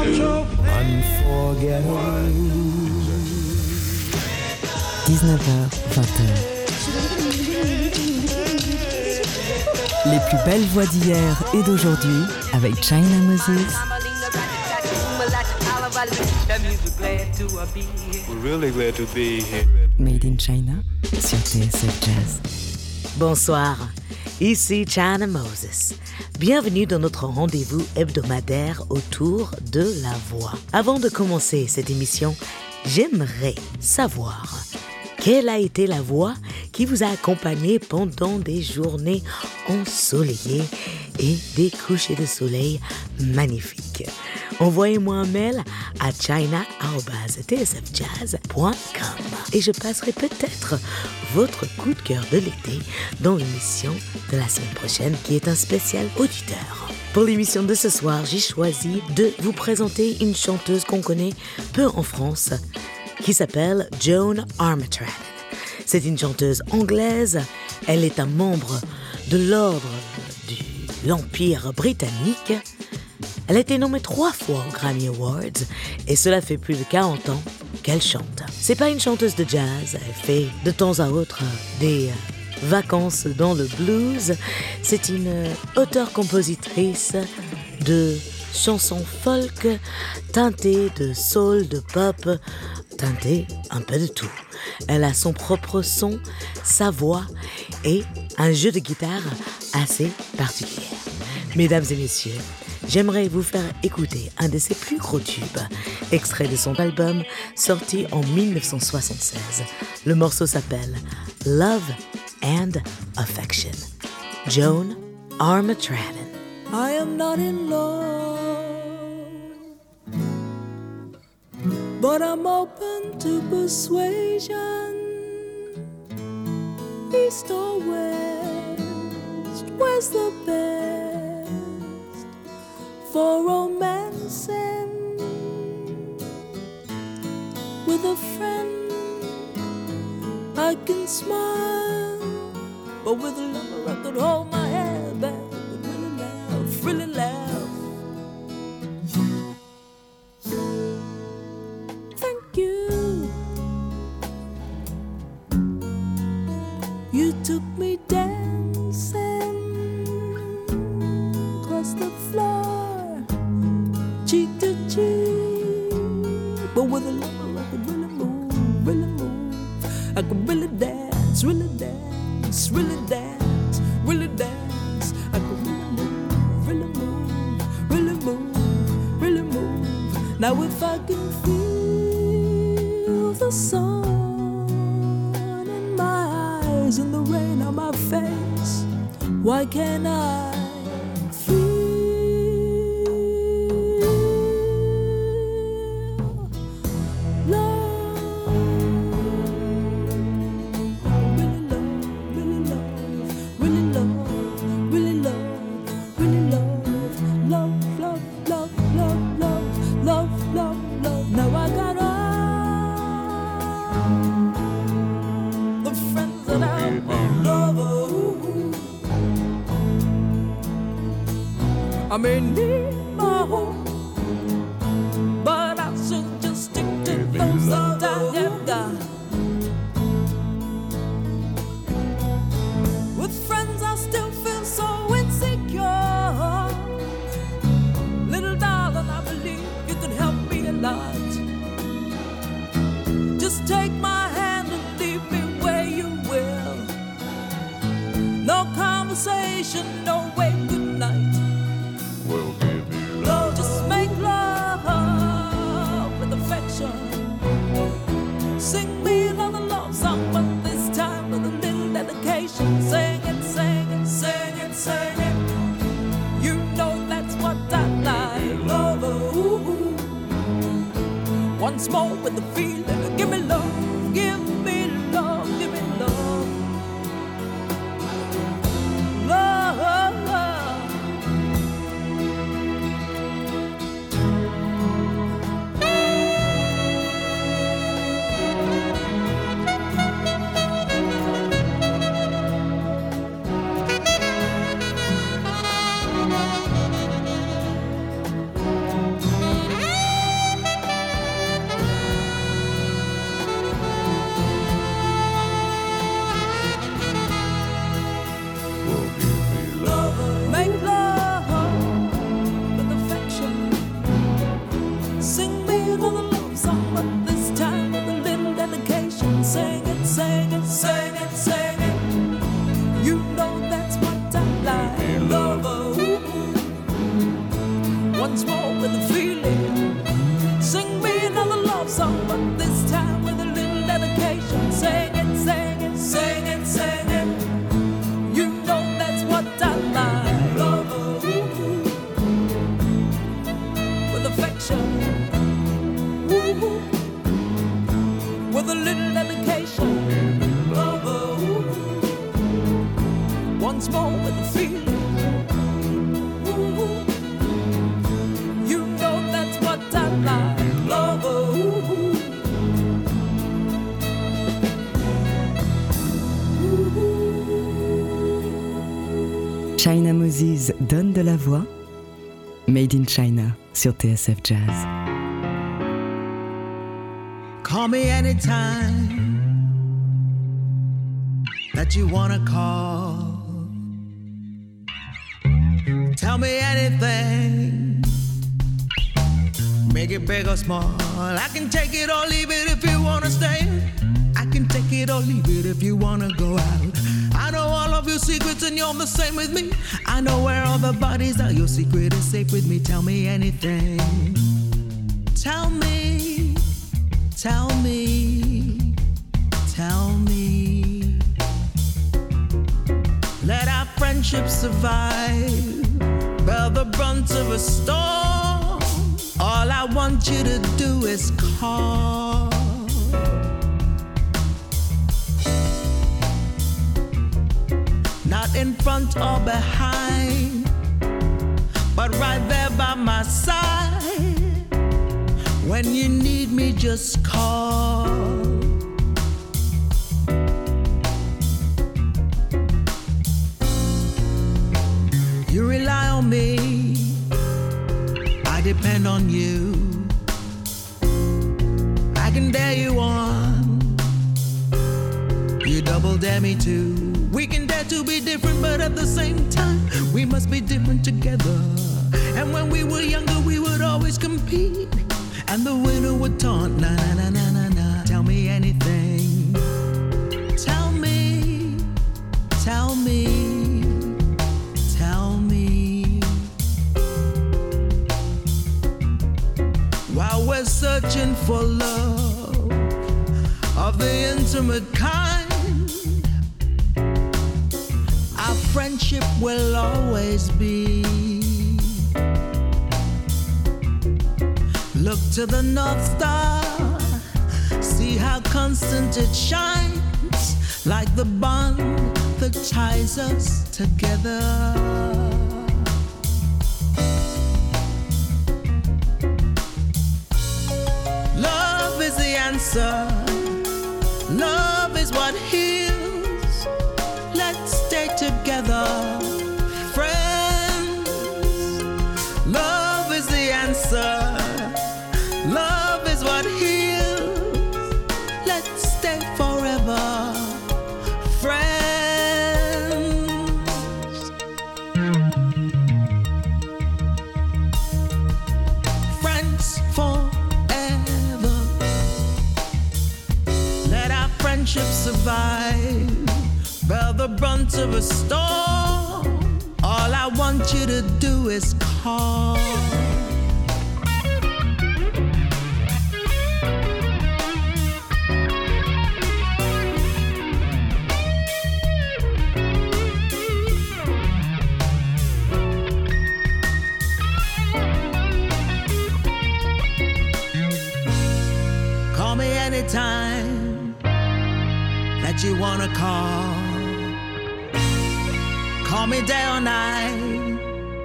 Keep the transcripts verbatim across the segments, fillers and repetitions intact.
dix-neuf heures, vingt heures. Les plus belles voix d'hier et d'aujourd'hui avec China Moses. We're really glad to be here. Made in China sur T S F Jazz. Bonsoir, ici China Moses. Bienvenue dans notre rendez-vous hebdomadaire autour de la voix. Avant de commencer cette émission, j'aimerais savoir quelle a été la voix qui vous a accompagné pendant des journées ensoleillées et des couchers de soleil magnifiques. Envoyez-moi un mail à china arobase t s f jazz point com et je passerai peut-être votre coup de cœur de l'été dans l'émission de la semaine prochaine qui est un spécial auditeur. Pour l'émission de ce soir, j'ai choisi de vous présenter une chanteuse qu'on connaît peu en France qui s'appelle Joan Armatradon. C'est une chanteuse anglaise. Elle est un membre de l'ordre de l'Empire britannique. Elle a été nommée trois fois aux Grammy Awards et cela fait plus de quarante ans qu'elle chante. C'est pas une chanteuse de jazz, elle fait de temps à autre des vacances dans le blues. C'est une auteure-compositrice de chansons folk teintées de soul, de pop, teintées un peu de tout. Elle a son propre son, sa voix et un jeu de guitare assez particulier. Mesdames et messieurs, j'aimerais vous faire écouter un de ses plus gros tubes, extrait de son album sorti en dix-neuf cent soixante-seize. Le morceau s'appelle Love and Affection. Joan Armatradon. I am not in love, but I'm open to persuasion. East or west, where's the best for romancing with a friend? I can smile, but with a lover I could hold my head back and really laugh, really laugh. Thank you. You took me dancing across the floor, cheek to cheek, but with a lover I could really move, really move. I could really dance, really dance, really dance, really dance. I could really move, really move, really move, really move. Now if I can feel the sun in my eyes and the rain on my face, why can't I feel love? I may need my home, but I should just stick to those that I have got. With friends I still feel so insecure. Little darling, I believe you could help me a lot. Just take my hand and leave me where you will. No conversation, no way, good night. Just make love with affection. Sing me another love song, but this time with a little dedication. Sing it, sing it, sing it, sing it. You know that's what I like. Love, ooh. Once more with the feeling. Give me love, give me love, give me love. Love, love. once more with the feeling. Ooh, you know that's what I like, lover. Ooh. China Moses donne de la voix. Made in China sur T S F Jazz. Call me anytime that you wanna call. Tell me anything, make it big or small. I can take it or leave it if you wanna stay. I can take it or leave it if you wanna go out. I know all of your secrets and you're the same with me. I know where all the bodies are, your secret is safe with me. Tell me anything. Tell me, tell me, tell me. Let our friendship survive, bear the brunt of a storm. All I want you to do is call. Not in front or behind, but right there by my side. When you need me, just call. You rely on me, I depend on you. I can dare you on, you double dare me too. We can dare to be different, but at the same time, we must be different together. And when we were younger, we would always compete, and the winner would taunt, na na na na na na. Tell me anything. Tell me, tell me, tell me. While we're searching for love of the intimate kind, friendship will always be. Look to the North Star, see how constant it shines, like the bond that ties us together. Love is the answer, love is what heals. Let's stay together, friends. Love is the answer, love is what heals. Let's stay forever, friends. Friends forever. Let our friendship survive, bear the brunt of a storm. All I want you to do is call. Call me anytime that you wanna call. Call me day or night,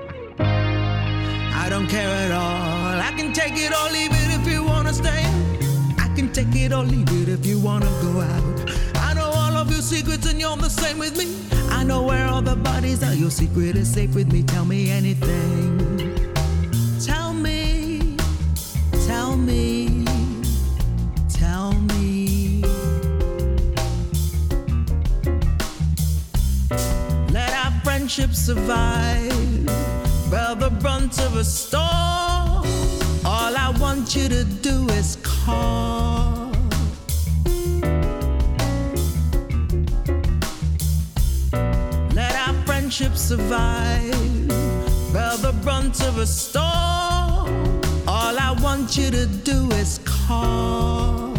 I don't care at all. I can take it or leave it if you wanna stay. I can take it or leave it if you wanna go out. I know all of your secrets and you're the same with me. I know where all the bodies are, your secret is safe with me. Tell me anything. Tell me, tell me, tell me. Let our friendship survive, bear the brunt of a storm. All I want you to do is call. Let our friendship survive, bear the brunt of a storm. All I want you to do is call.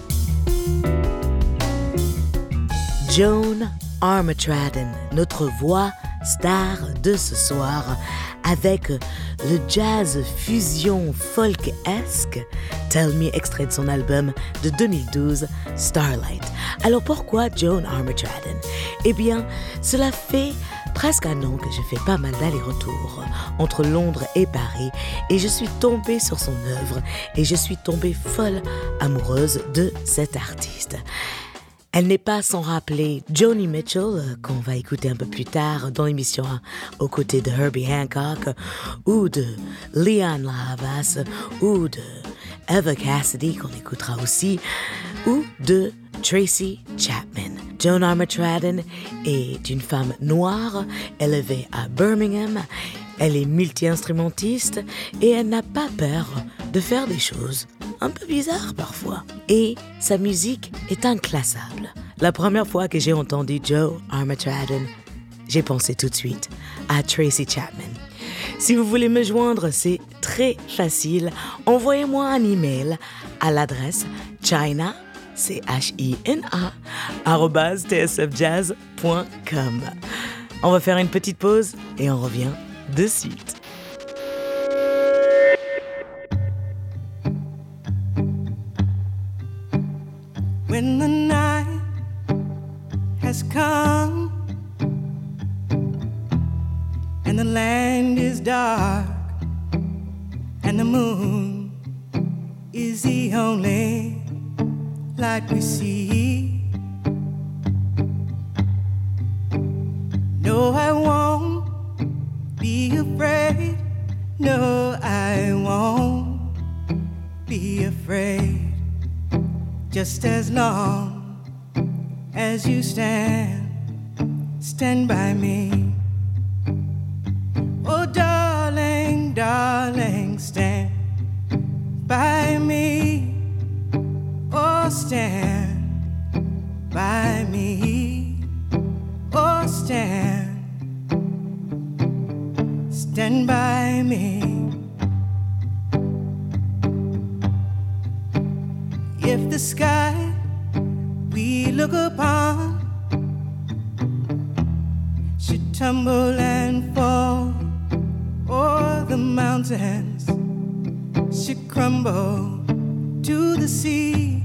Joan Armatrading, notre voix star de ce soir, avec le jazz fusion folk-esque, Tell Me, extrait de son album de deux mille douze, Starlight. Alors pourquoi Joan Armatrading? Eh bien, cela fait presque un an que je fais pas mal d'allers-retours entre Londres et Paris et je suis tombée sur son œuvre et je suis tombée folle amoureuse de cet artiste. Elle n'est pas sans rappeler Joni Mitchell, qu'on va écouter un peu plus tard dans l'émission aux côtés de Herbie Hancock, ou de Lianne La Havas, ou de Eva Cassidy, qu'on écoutera aussi, ou de Tracy Chapman. Joan Armatradon est une femme noire élevée à Birmingham. Elle est multi-instrumentiste et elle n'a pas peur de faire des choses un peu bizarres parfois. Et sa musique est inclassable. La première fois que j'ai entendu Joan Armatradon, j'ai pensé tout de suite à Tracy Chapman. Si vous voulez me joindre, c'est très facile. Envoyez-moi un email à l'adresse china, C H I N A, arobase t s f jazz point com. On va faire une petite pause et on revient de suite. When the night has come and the land is dark and the moon is the only light we see, no, I won't be afraid, no, I won't be afraid. Just as long as you stand, stand by me. Oh, darling, darling, stand by me. Oh, stand by me. Oh, stand, stand by me. If the sky we look upon should tumble and fall, or the mountains should crumble to the sea,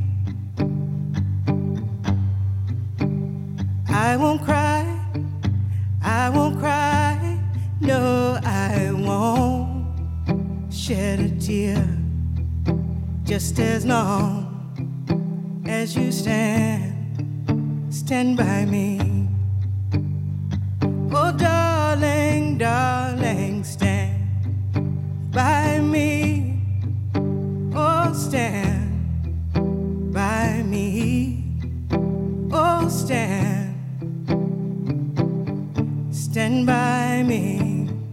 I won't cry, I won't cry, no, I won't shed a tear, just as long as you stand, stand by me. Oh, darling, darling, stand by me. Oh, stand by me. Oh, stand, stand by me.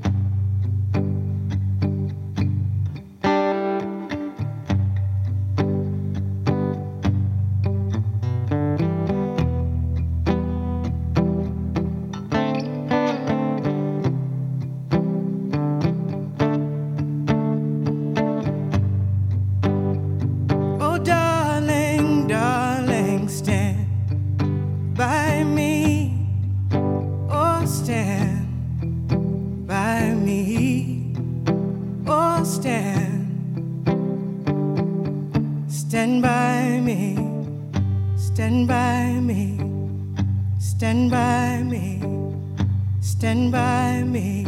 Stand by me, stand by me, stand by me, stand by me.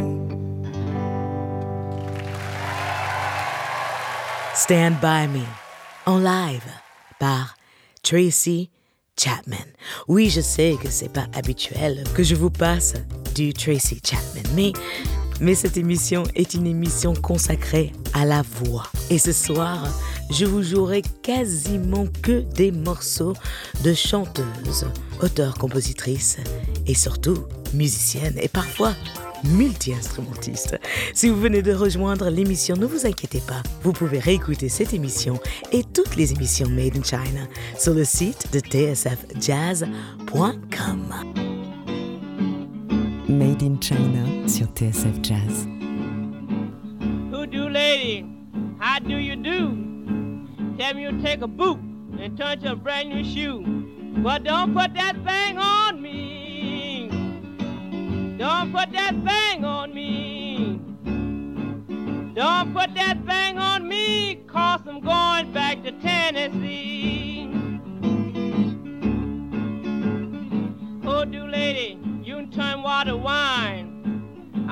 Stand by me, en live par Tracy Chapman. Oui, je sais que c'est pas habituel que je vous passe du Tracy Chapman, mais Mais cette émission est une émission consacrée à la voix. Et ce soir, je vous jouerai quasiment que des morceaux de chanteuses, auteurs, compositrices et surtout musiciennes et parfois multi-instrumentistes. Si vous venez de rejoindre l'émission, ne vous inquiétez pas. Vous pouvez réécouter cette émission et toutes les émissions Made in China sur le site de t s f jazz point com. Made in China sur T S F Jazz. Who do, lady? How do you do? Tell me you take a boot and turn to a brand new shoe. But don't put that thing on me. Don't put that thing on me. Don't put that thing on me, 'cause I'm going back to Tennessee. Oh, do, lady, you can turn water wine.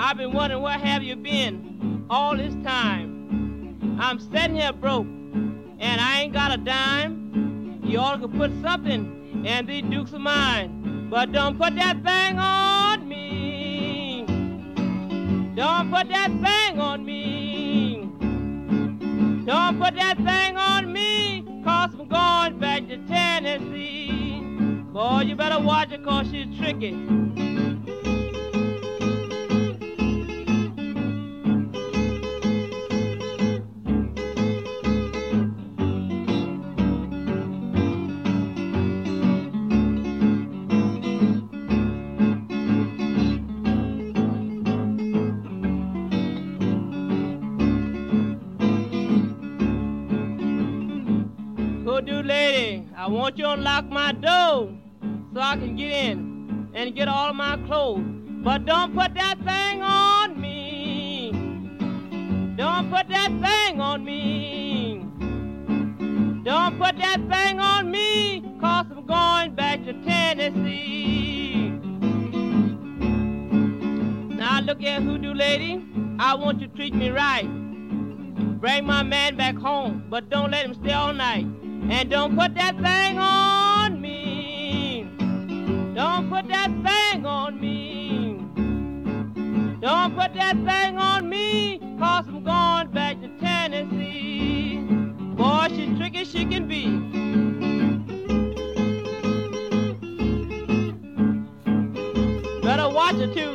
I've been wondering where have you been all this time. I'm sitting here broke, and I ain't got a dime. You ought to put something in these dukes of mine, but don't put that thing on me. Don't put that thing on me. Don't put that thing on me, cause I'm going back to Tennessee. Boy, you better watch her, cause she's tricky. Lady, I want you to unlock my door so I can get in and get all of my clothes. But don't put that thing on me. Don't put that thing on me. Don't put that thing on me, cause I'm going back to Tennessee. Now look here, hoodoo lady, I want you to treat me right. Bring my man back home, but don't let him stay all night. And don't put that thing on me. Don't put that thing on me. Don't put that thing on me, cause I'm going back to Tennessee. Boy, she's tricky she can be. Better watch her too.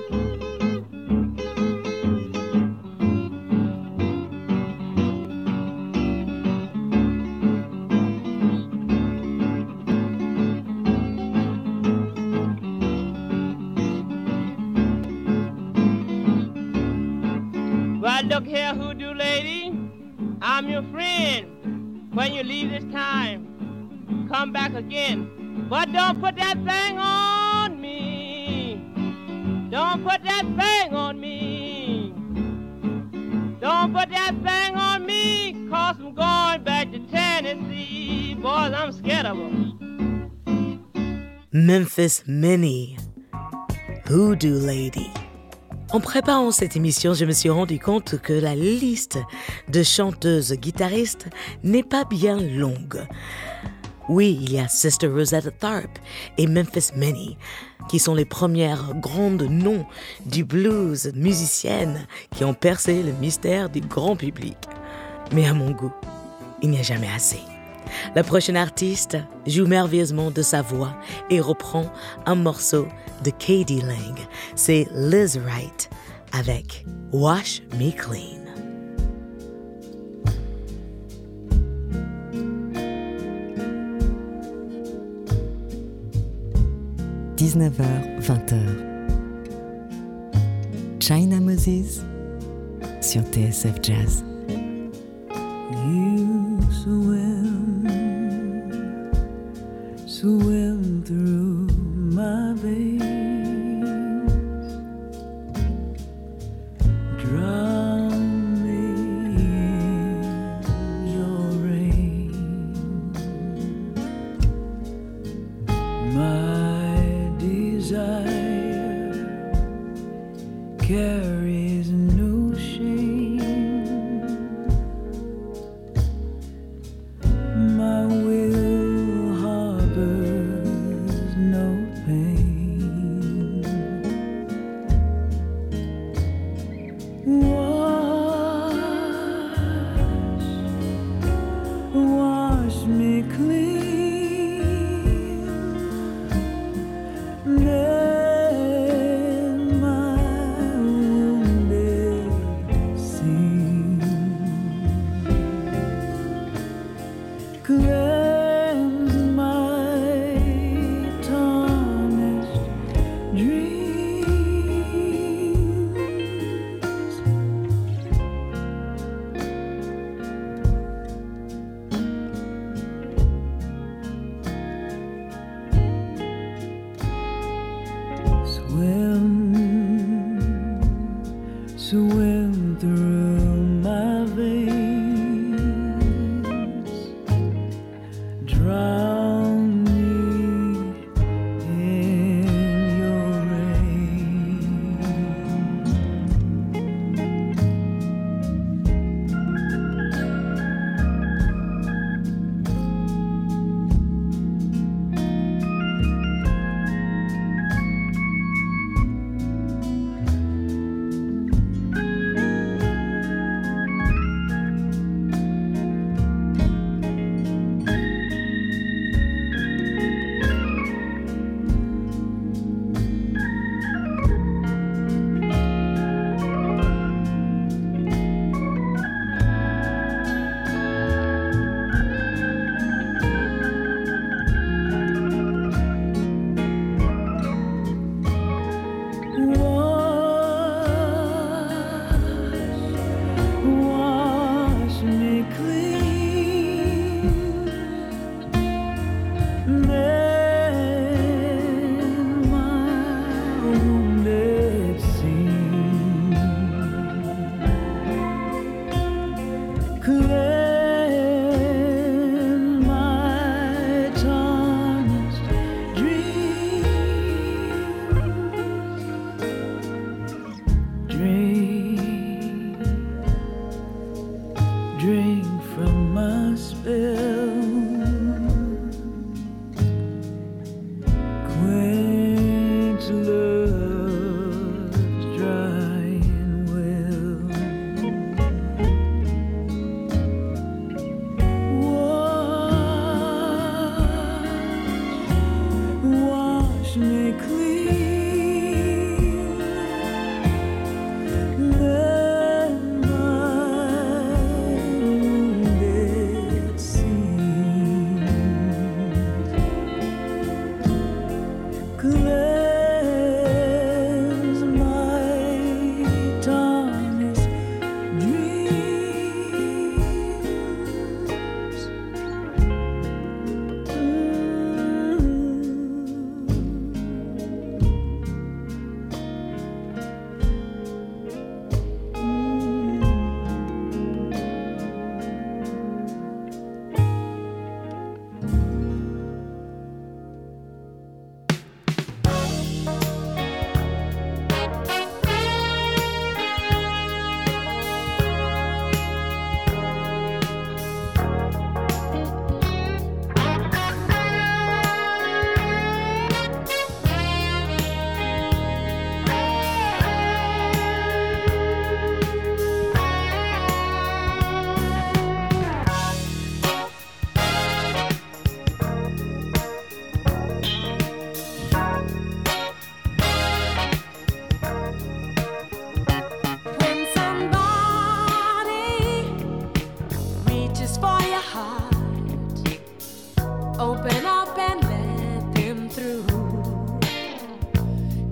Look here, hoodoo lady, I'm your friend. When you leave this time, come back again. But don't put that thing on me. Don't put that thing on me. Don't put that thing on me, cause I'm going back to Tennessee. Boys, I'm scared of them. Memphis Minnie, Hoodoo Lady. En préparant cette émission, je me suis rendu compte que la liste de chanteuses guitaristes n'est pas bien longue. Oui, il y a Sister Rosetta Tharpe et Memphis Minnie, qui sont les premières grandes noms du blues musiciennes qui ont percé le mystère du grand public. Mais à mon goût, il n'y a jamais assez. La prochaine artiste joue merveilleusement de sa voix et reprend un morceau de K D Lang. C'est Liz Wright avec Wash Me Clean. dix-neuf heures vingt. China Moses sur T S F Jazz. You swim, swim through my veins, drown me in your rain. My desire carries no shame. My will harbors no pain. Wash, wash me clean. Let my wounded sing. Cleanse my tarnished dreams. Swim, swim through my veins, drown me in your rain.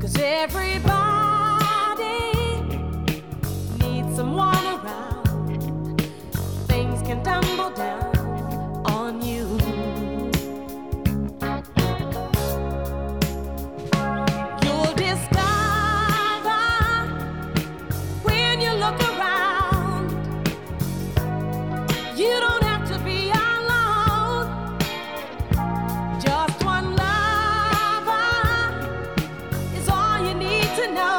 'Cause everybody needs someone around. Things can tumble down on you. You'll discover when you look around, you don't have to be alone. Just one lover is all you need to know.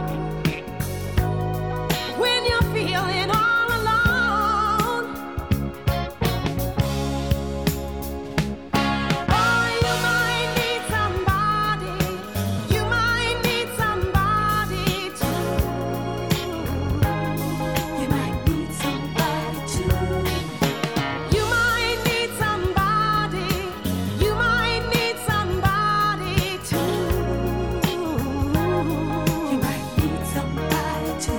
When you're feeling all alone, oh, you might need somebody. You might need somebody too. You might need somebody too. You might need somebody. You might need somebody too. You might need somebody too.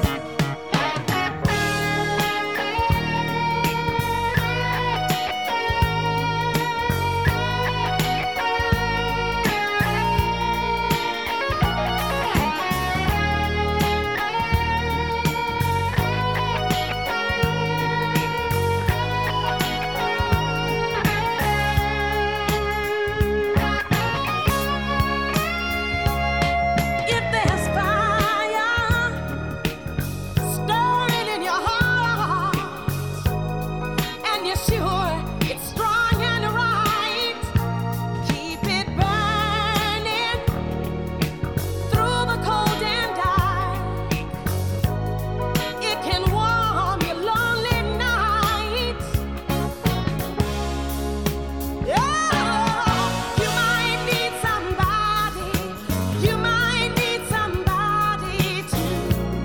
If there's fire stirring in your heart, and you're sure it's strong and right, keep it burning through the cold and dark. It can warm your lonely nights. Oh, you might need somebody. You might need somebody too.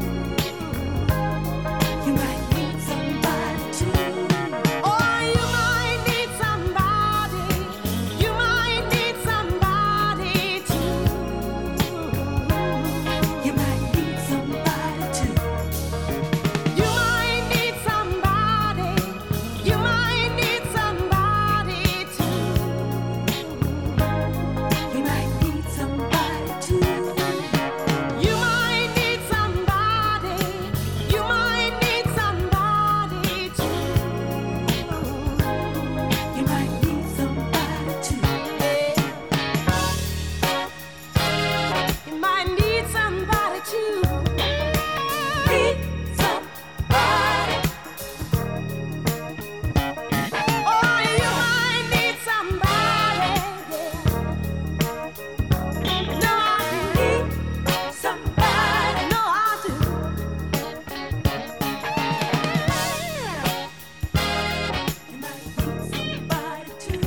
You might need somebody too. Oh, you might need somebody. You might need somebody too. You might need somebody too. You might need somebody. You might need somebody too. You might need somebody too. You might need somebody. You might need somebody too. You might need somebody too. You might need somebody too. Need somebody. Oh, you might need somebody. No, I need somebody. No, I do. You might need somebody too.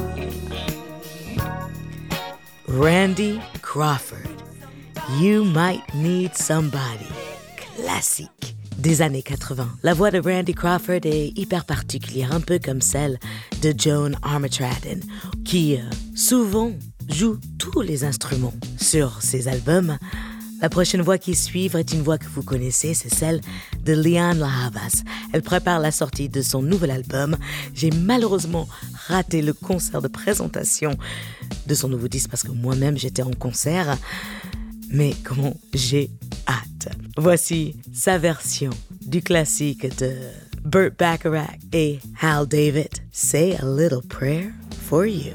Randy Crawford, You Might Need Somebody, classique des années quatre-vingts. La voix de Randy Crawford est hyper particulière, un peu comme celle de Joan Armatrading, qui euh, souvent joue tous les instruments sur ses albums. La prochaine voix qui suivra est une voix que vous connaissez, c'est celle de Lianne La Havas. Elle prépare la sortie de son nouvel album. J'ai malheureusement raté le concert de présentation de son nouveau disque parce que moi-même j'étais en concert. Mais comment j'ai hâte. Voici sa version du classique de Burt Bacharach et Hal David, Say a Little Prayer for You.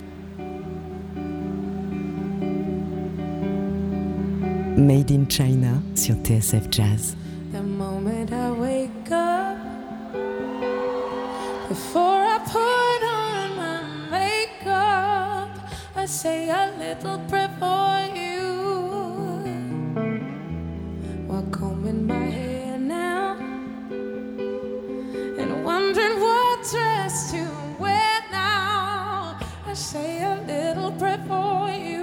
Made in China sur T S F Jazz. The moment I wake up, before I put on my makeup, I say a little prayer for you. While combing my hair now, and wondering what dress to wear now, I say a little prayer for you.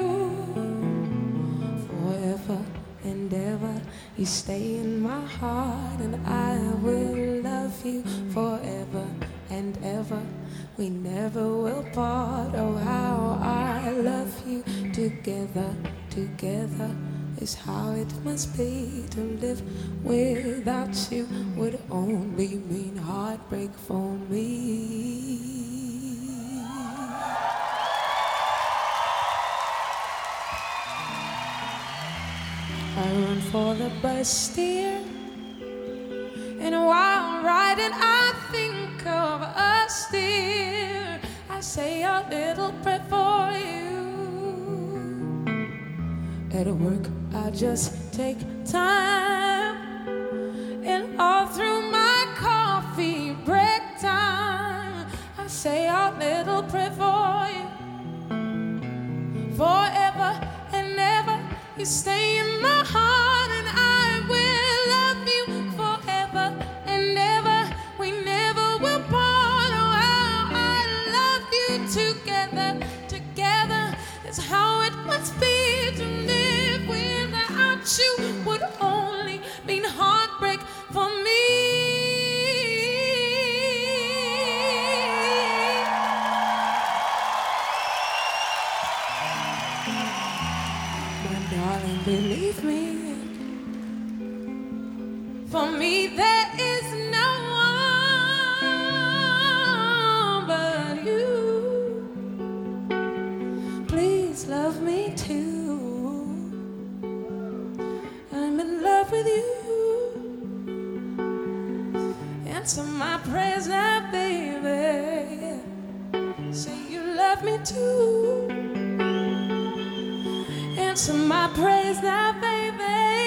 Forever and ever, you stay in my heart, and I will love you forever and ever. We never will part. Oh, how I love you. Together, together is how it must be. To live without you would only mean heartbreak for me. I run for the Bastille, and while riding I think of us still. I say a little prayer for you. At work I just take time, and all through my coffee break time I say a little prayer for you. Forever and ever you stay in my heart, and I will love you forever and ever. We never will part. Oh, how I love you together. Together is how it must be. To live without you would only mean heartbreak for me. Darling, believe me, for me there is no one but you. Please love me too. I'm in love with you. Answer my prayers now, baby. Say you love me too. Answer my praise now, baby.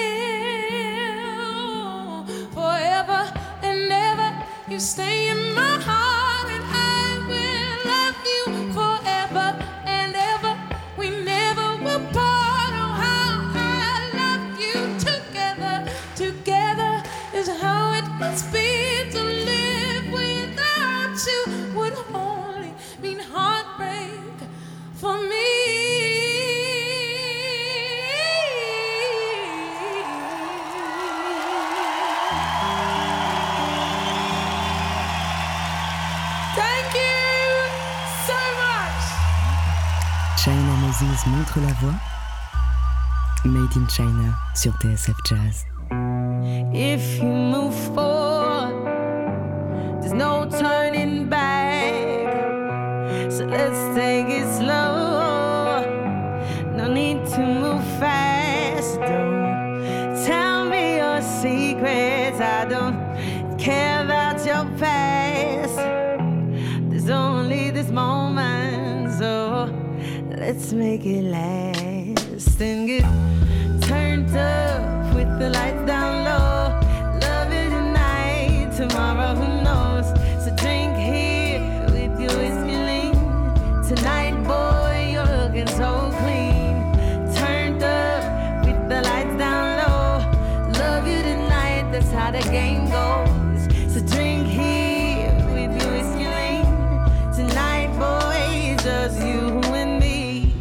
Forever and ever you stay in my heart, and I will love you forever and ever. We never will part. Oh, how I love you together. Together is how it must be. To live without you would only mean heartbreak for me. China Moses montre la voix. Made in China sur T S F Jazz. If you move forward, there's no turning back. So let's take it slow. No need to move fast. Don't tell me your secrets. I don't care about your past. There's only this moment, so let's make it last and get turned up with the lights down low. Love it tonight, tomorrow who knows? So drink here with your whiskey lean. Tonight, boy, you're looking so clean. Turned up with the lights down low. Love you tonight, that's how the game goes. So drink here with your whiskey lean. Tonight, boy, it's just you and me.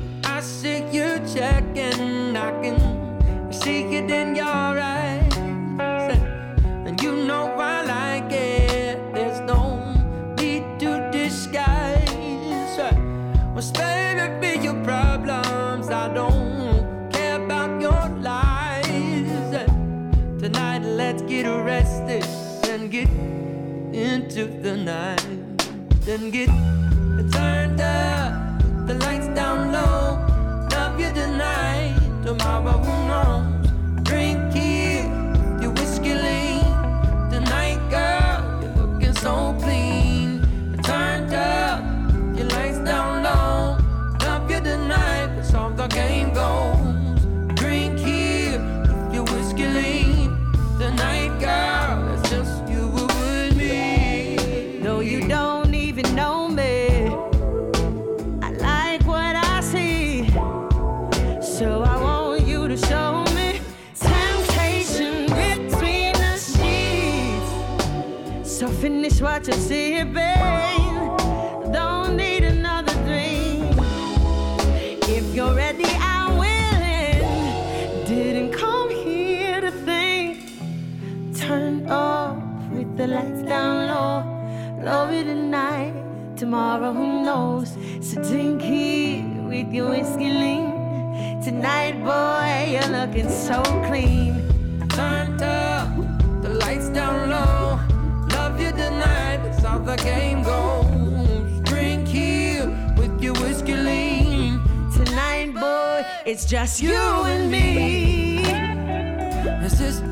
Check and I can see it in your eyes, and you know I like it. There's no need to disguise what's baby be your problems. I don't care about your lies. Tonight let's get arrested and get into the night, then get turned up, the lights down low. You tonight, tomorrow who knows? Drink here, your whiskey lean. Tonight, girl, you're looking so clean. Turned up, your lights down low. Love you tonight, that's how the game goes. Drink here, your whiskey lean. Tonight, girl, it's just you and me. Though you don't even know me, I like what I see. So I want you to show me temptation between the sheets. So finish what you're sipping. Don't need another drink. If you're ready, I'm willing. Didn't come here to think. Turn off with the lights down low. Love you tonight, tomorrow who knows? So drink here with your whiskey lean. Tonight, boy, you're looking so clean. Turned up, the lights down low. Love you tonight, that's how the game goes. Drink here with your whiskey lean. Tonight, boy, it's just you and me.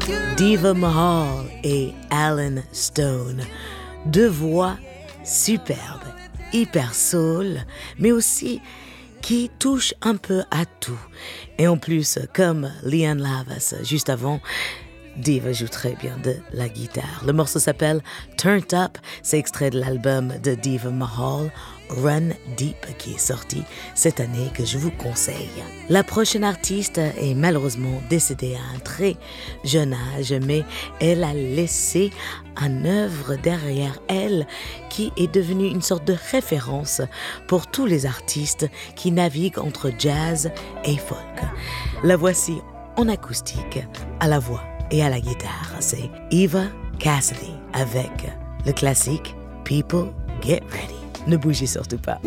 Diva Mahal et Alan Stone, deux voix superbes, hyper soul, mais aussi qui touchent un peu à tout. Et en plus, comme Lianne La Havas juste avant, Diva joue très bien de la guitare. Le morceau s'appelle Turned Up, c'est extrait de l'album de Diva Mahal, Run Deep, qui est sorti cette année, que je vous conseille. La prochaine artiste est malheureusement décédée à un très jeune âge, mais elle a laissé une œuvre derrière elle qui est devenue une sorte de référence pour tous les artistes qui naviguent entre jazz et folk. La voici en acoustique, à la voix et à la guitare. C'est Eva Cassidy avec le classique People Get Ready. Ne bougez surtout pas.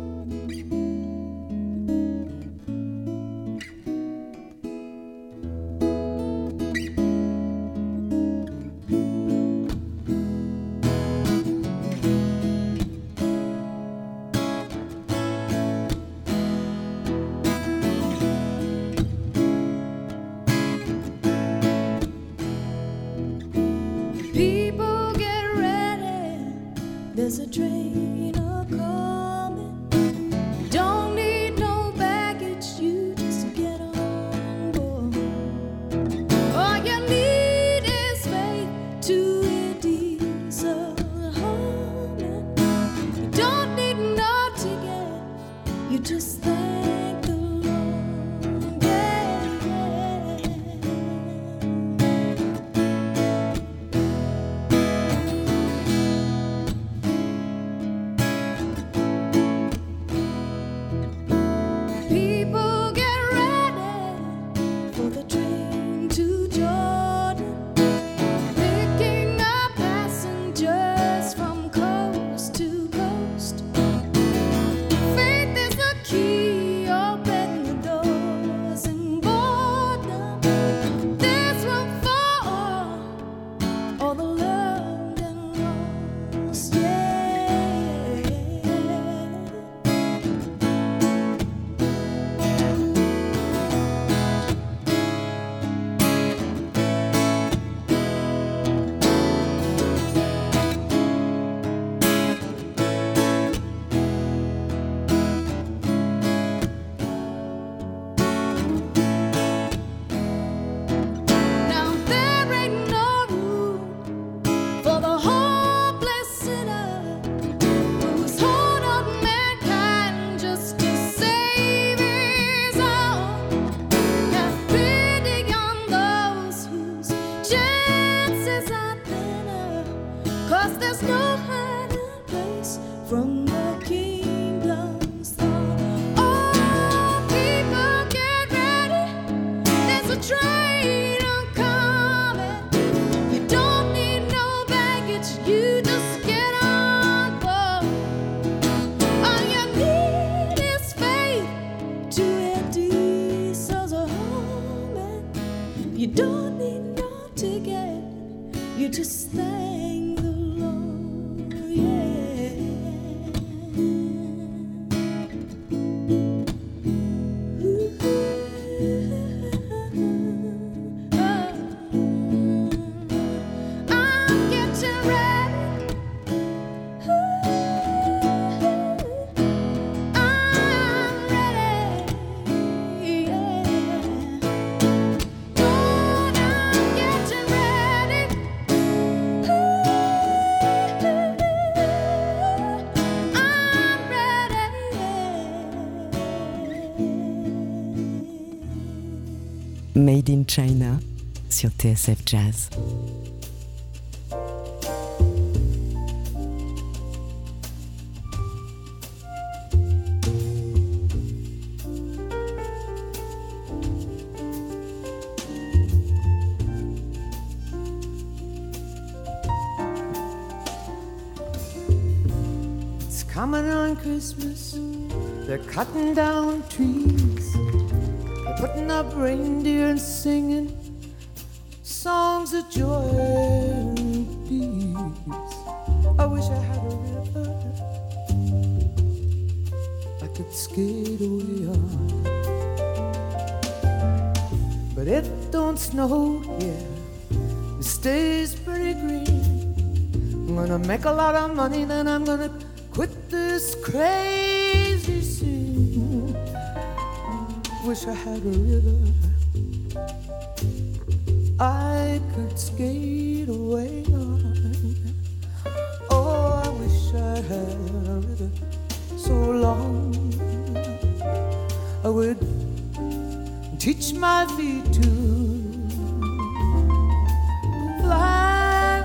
People get ready, there's a train a-coming. Don't need no baggage, you just get on board. All you need is faith to a diesel humming. You don't need no ticket, you just thank the Lord. Yeah, yeah. People get ready for the train to Jordan, picking up passengers from coast to coast. Faith is the key, open the doors and board them. There's room for all, all the loved and lost, yeah. Now there ain't no room for the hopeless sinner who's hold on mankind just to save his own. Have pity on those whose chances are thinner, 'cause there's no hiding place from the kingdom's throne. Oh, people get ready, there's a train a-coming. You don't need no baggage, you just get on board. All you need is faith to a diesel's humming. You don't need no ticket, you just thank the Lord, yeah. I'm getting ready. I'm ready, yeah. Lord, I'm getting ready. I'm ready, yeah. Made in China sur T S F Jazz. It's coming on Christmas. They're cutting down trees. They're putting up reindeer and singing songs of joy and peace. I wish I had a river I could skate away on, but it don't snow here stays pretty green. I'm gonna make a lot of money, then I'm gonna quit this crazy scene. Wish I had a river I could skate away on. Oh, I wish I had a river so long I would teach my feet to fly.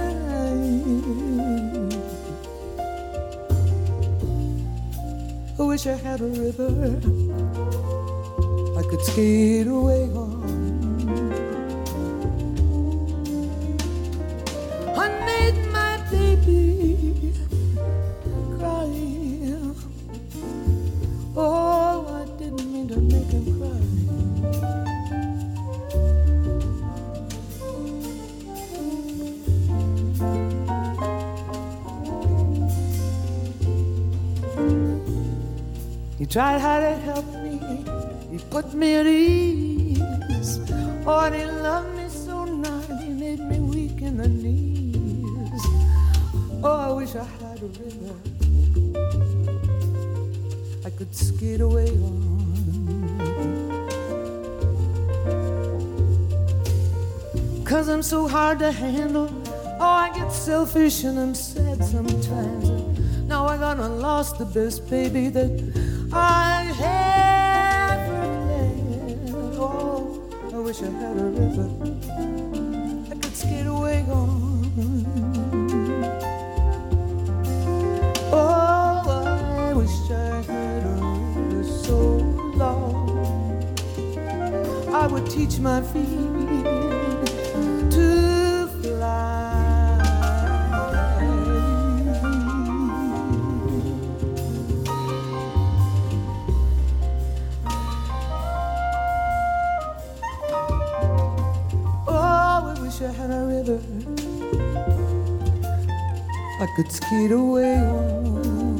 I wish I had a river I could skate away on. I made my baby cry. Oh, I didn't mean to make him cry. He tried hard to help me, he put me at ease. Oh, and he loved me so nice, he made me weak in the knees. Oh, I wish I had a river I could skate away on. Cause I'm so hard to handle. Oh, I get selfish and I'm sad sometimes. Now I gonna lost the best baby that I ever had. Oh, I wish I had a river I could skate away on. Oh, I wish I had a river so long I would teach my feet to fly. I had a river I could skate away on.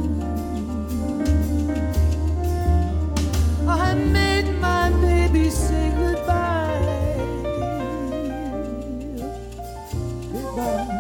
I made my baby say goodbye. Goodbye.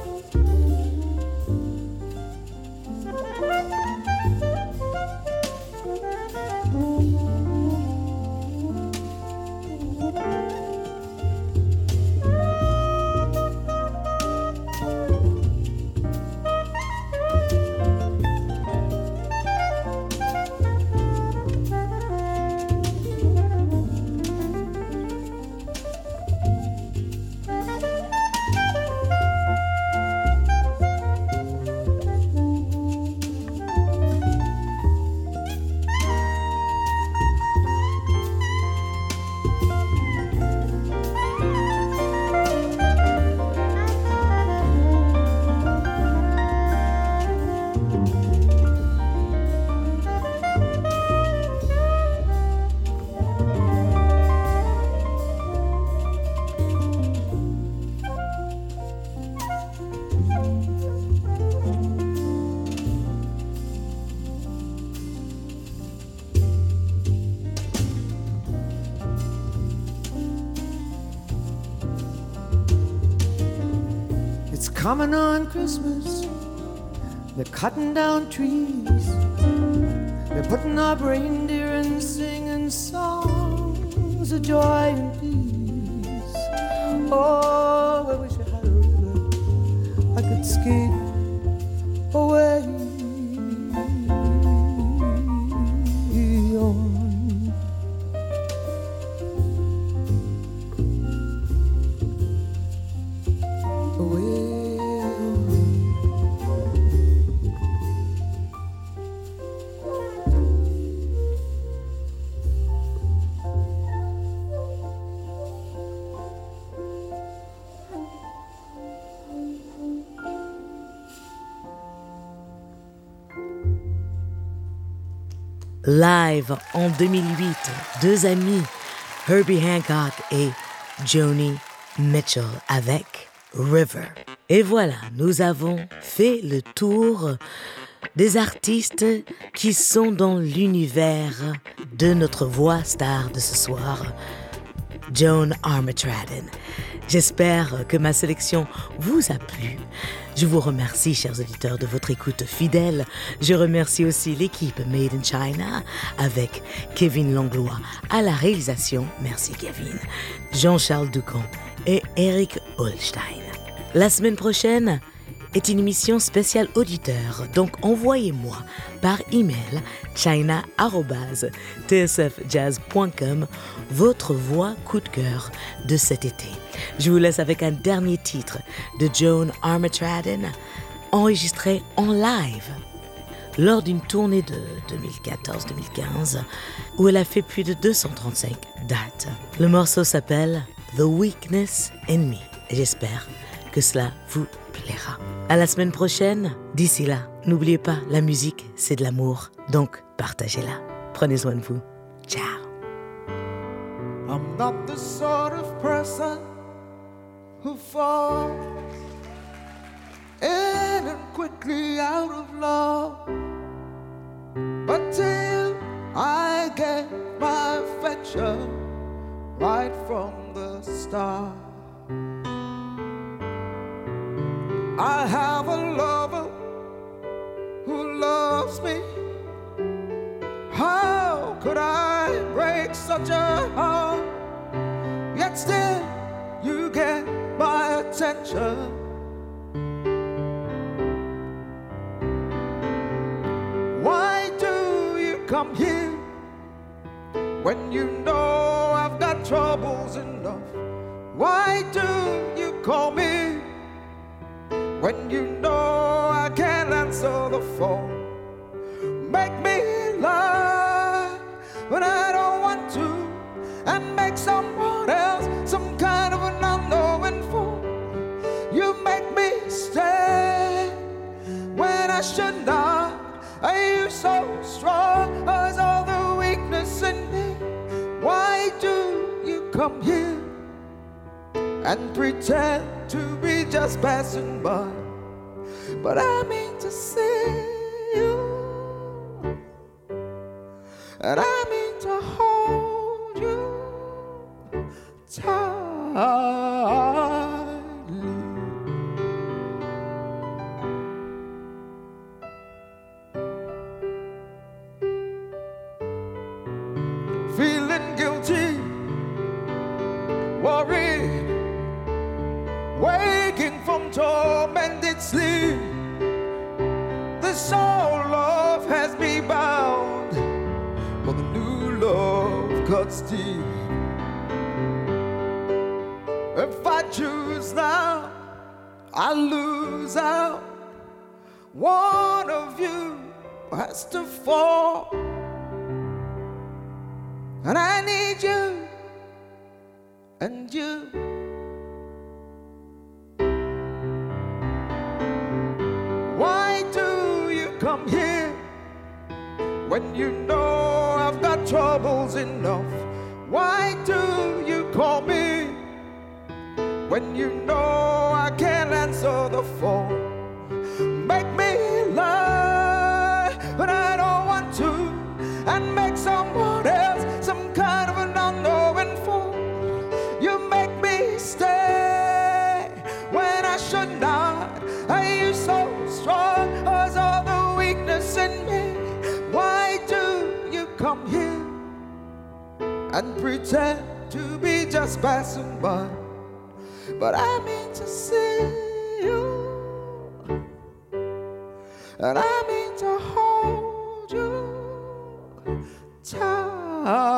Coming on Christmas, they're cutting down trees, they're putting up reindeer and singing songs of joy and peace. Oh, I wish I had a river I could skate away on. Away. Live en deux mille huit, deux amis, Herbie Hancock et Joni Mitchell avec River. Et voilà, nous avons fait le tour des artistes qui sont dans l'univers de notre voix star de ce soir, Joan Armatradon. J'espère que ma sélection vous a plu. Je vous remercie, chers auditeurs, de votre écoute fidèle. Je remercie aussi l'équipe Made in China avec Kevin Langlois à la réalisation. Merci Kevin. Jean-Charles Ducamp et Eric Holstein. La semaine prochaine est une émission spéciale auditeur, donc envoyez-moi par email china arobase t s f jazz point com votre voix coup de cœur de cet été. Je vous laisse avec un dernier titre de Joan Armatrading, enregistré en live lors d'une tournée de deux mille quatorze deux mille quinze où elle a fait plus de deux cent trente-cinq dates. Le morceau s'appelle The Weakness in Me et j'espère que cela vous plaira. À la semaine prochaine. D'ici là, n'oubliez pas, la musique, c'est de l'amour, donc partagez-la. Prenez soin de vous. Ciao. I'm not the sort of person who falls in and quickly out of love, but till I get my affection right from the start. I have a lover who loves me. How could I break such a heart? Yet still you get my attention. Why do you come here when you know I've got troubles enough? Why do you call me when you know I can't answer the phone? Make me lie when I don't want to, and make someone else some kind of an unknowing fool. You make me stay when I should not. Are you so strong? Or is all the weakness in me? Why do you come here and pretend to be just passing by? But I mean to see you, and I mean to hold you tightly. Feeling guilty, worried, waking from tormented sleep. This old love has me bound, but the new love cuts deep. If I choose now, I lose out. One of you has to fall, and I need you and you. Why do you come here when you know I've got troubles enough? Why do you call me when you know I can't answer the phone? Make me lie when I don't want to, and make someone else some kind of an unknowing fool. You make me stay when I should not. Are you so strong, or is all the weakness in me? Why do you come here and pretend to be just passing by? But I mean to see you, and I mean to hold you tight.